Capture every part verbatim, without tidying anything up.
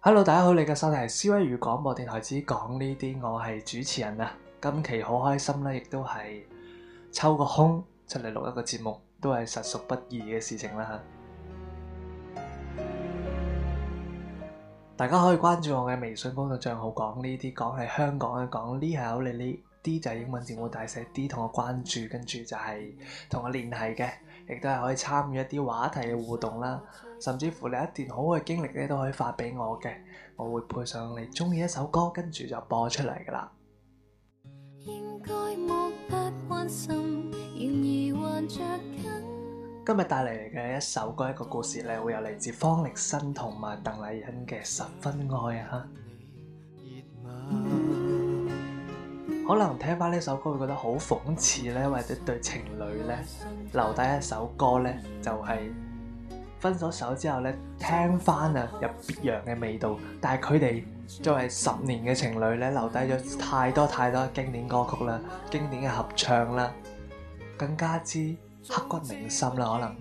Hello，大家好，你嘅收聽係思威語廣播電台之講呢啲，我係主持人啊。今期好開心啦，亦都係抽個空出嚟錄一個節目，都係實屬不易嘅事情啦吓。大家可以關注我嘅微信公眾賬號講呢啲，講係香港嘅講，呢係我哋呢啲就係英文字母大寫 D， 同我關注，跟住就係同我聯繫嘅，亦都係可以參與一啲話題嘅互動啦。甚至乎你一段好嘅經歷咧，都可以發俾我嘅，我會配上你中意一首歌，跟住就播出嚟噶啦。今日帶嚟嘅一首歌，一個故事咧，會有嚟自方力申同埋鄧麗欣嘅《十分愛》啊！可能聽翻呢首歌會覺得好諷刺咧，或者對情侶咧留低一首歌咧，就係、是。分咗手之後咧，聽翻啊有別樣嘅味道，但係佢哋作為十年嘅情侶咧，留低咗太多太多經典歌曲啦，經典嘅合唱啦，更加之刻骨銘心啦，可能。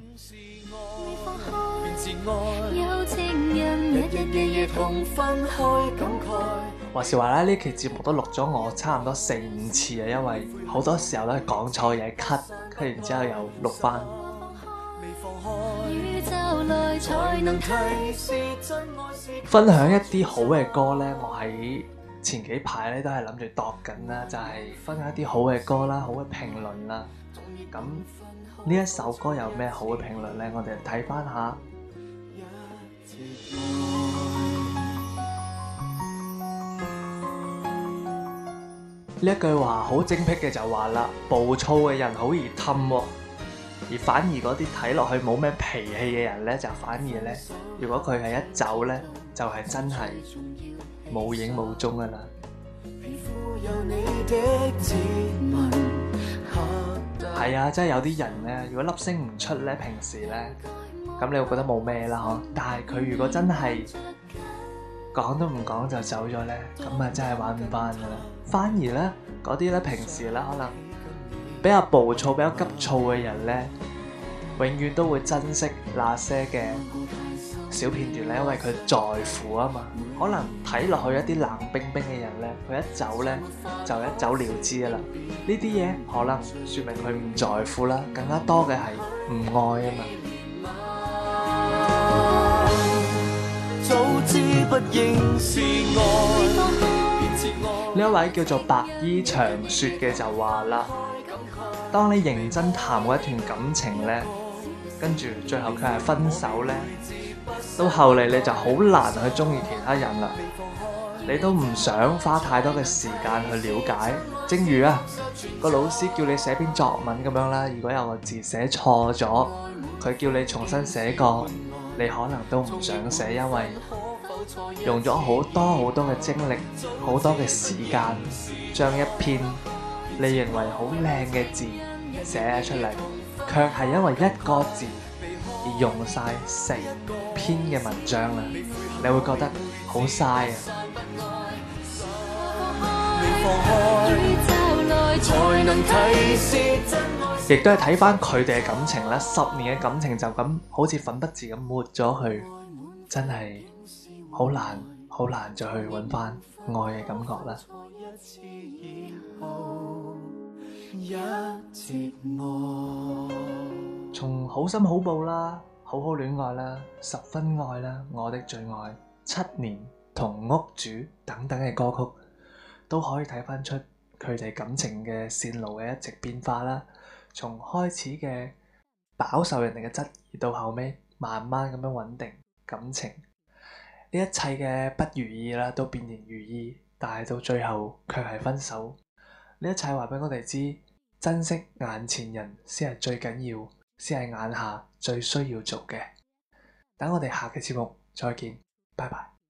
話時話咧，呢期節目都錄咗我差唔多四五次啊，因為好多時候都係講錯嘢 cut， cut 完之後又錄翻。分享一啲好嘅歌呢，我喺前幾排咧都係諗住度緊啦，就係、是、分享一啲好嘅歌啦，好嘅評論啦。咁呢一首歌有咩好嘅評論呢？我哋睇翻下呢一句話好精闢嘅就話啦，暴躁嘅人好易氹喎。而反而嗰啲睇落去冇咩脾氣嘅人呢，就反而呢，如果佢係一走呢，就係、是、真係冇影冇蹤噶啦。係啊，真係有啲人呢，如果粒聲唔出呢，平時呢，咁你會覺得冇咩啦嗬。但係佢如果真係講都唔講就走咗呢，咁啊真係玩唔翻噶啦。反而呢，嗰啲呢，平時呢，可能比較暴躁、比較急躁嘅人呢，永遠都會珍惜那些嘅小片段咧，因為佢在乎啊嘛。可能睇落去一啲冷冰冰嘅人呢，佢一走呢，就一走了之噶啦。呢啲嘢可能說明佢唔在乎啦，更加多嘅係唔愛啊嘛。早知不應是愛。呢一位叫做白衣長雪嘅就話啦，當你認真談過一段感情呢，跟住最後佢係分手呢，到後嚟你就好難去中意其他人啦，你都唔想花太多嘅時間去了解。正如啊個老師叫你寫篇作文咁樣啦，如果有個字寫錯咗，佢叫你重新寫過，你可能都唔想寫，因為用咗好多好多嘅精力，好多嘅時間，將一篇你認為好靚嘅字寫出嚟，卻係因為一個字而用晒成篇嘅文章啦，你會覺得好嘥啊！亦都係睇翻佢哋嘅感情啦，十年嘅感情就咁好似粉筆字咁抹咗去，真係好難好難再去揾翻愛嘅感覺啦。從好心好報啦，好好戀愛啦，十分愛啦，我的最愛，七年同屋主等等嘅歌曲，都可以睇翻出佢哋感情嘅線路嘅一直變化啦。從開始嘅飽受人哋嘅質疑，到後尾慢慢咁樣穩定感情，呢一切嘅不如意啦，都變成如意，但係到最後卻係分手。呢一切話俾我哋知，珍惜眼前人先係最緊要，先係眼下最需要做嘅。等我哋下期節目再見，拜拜。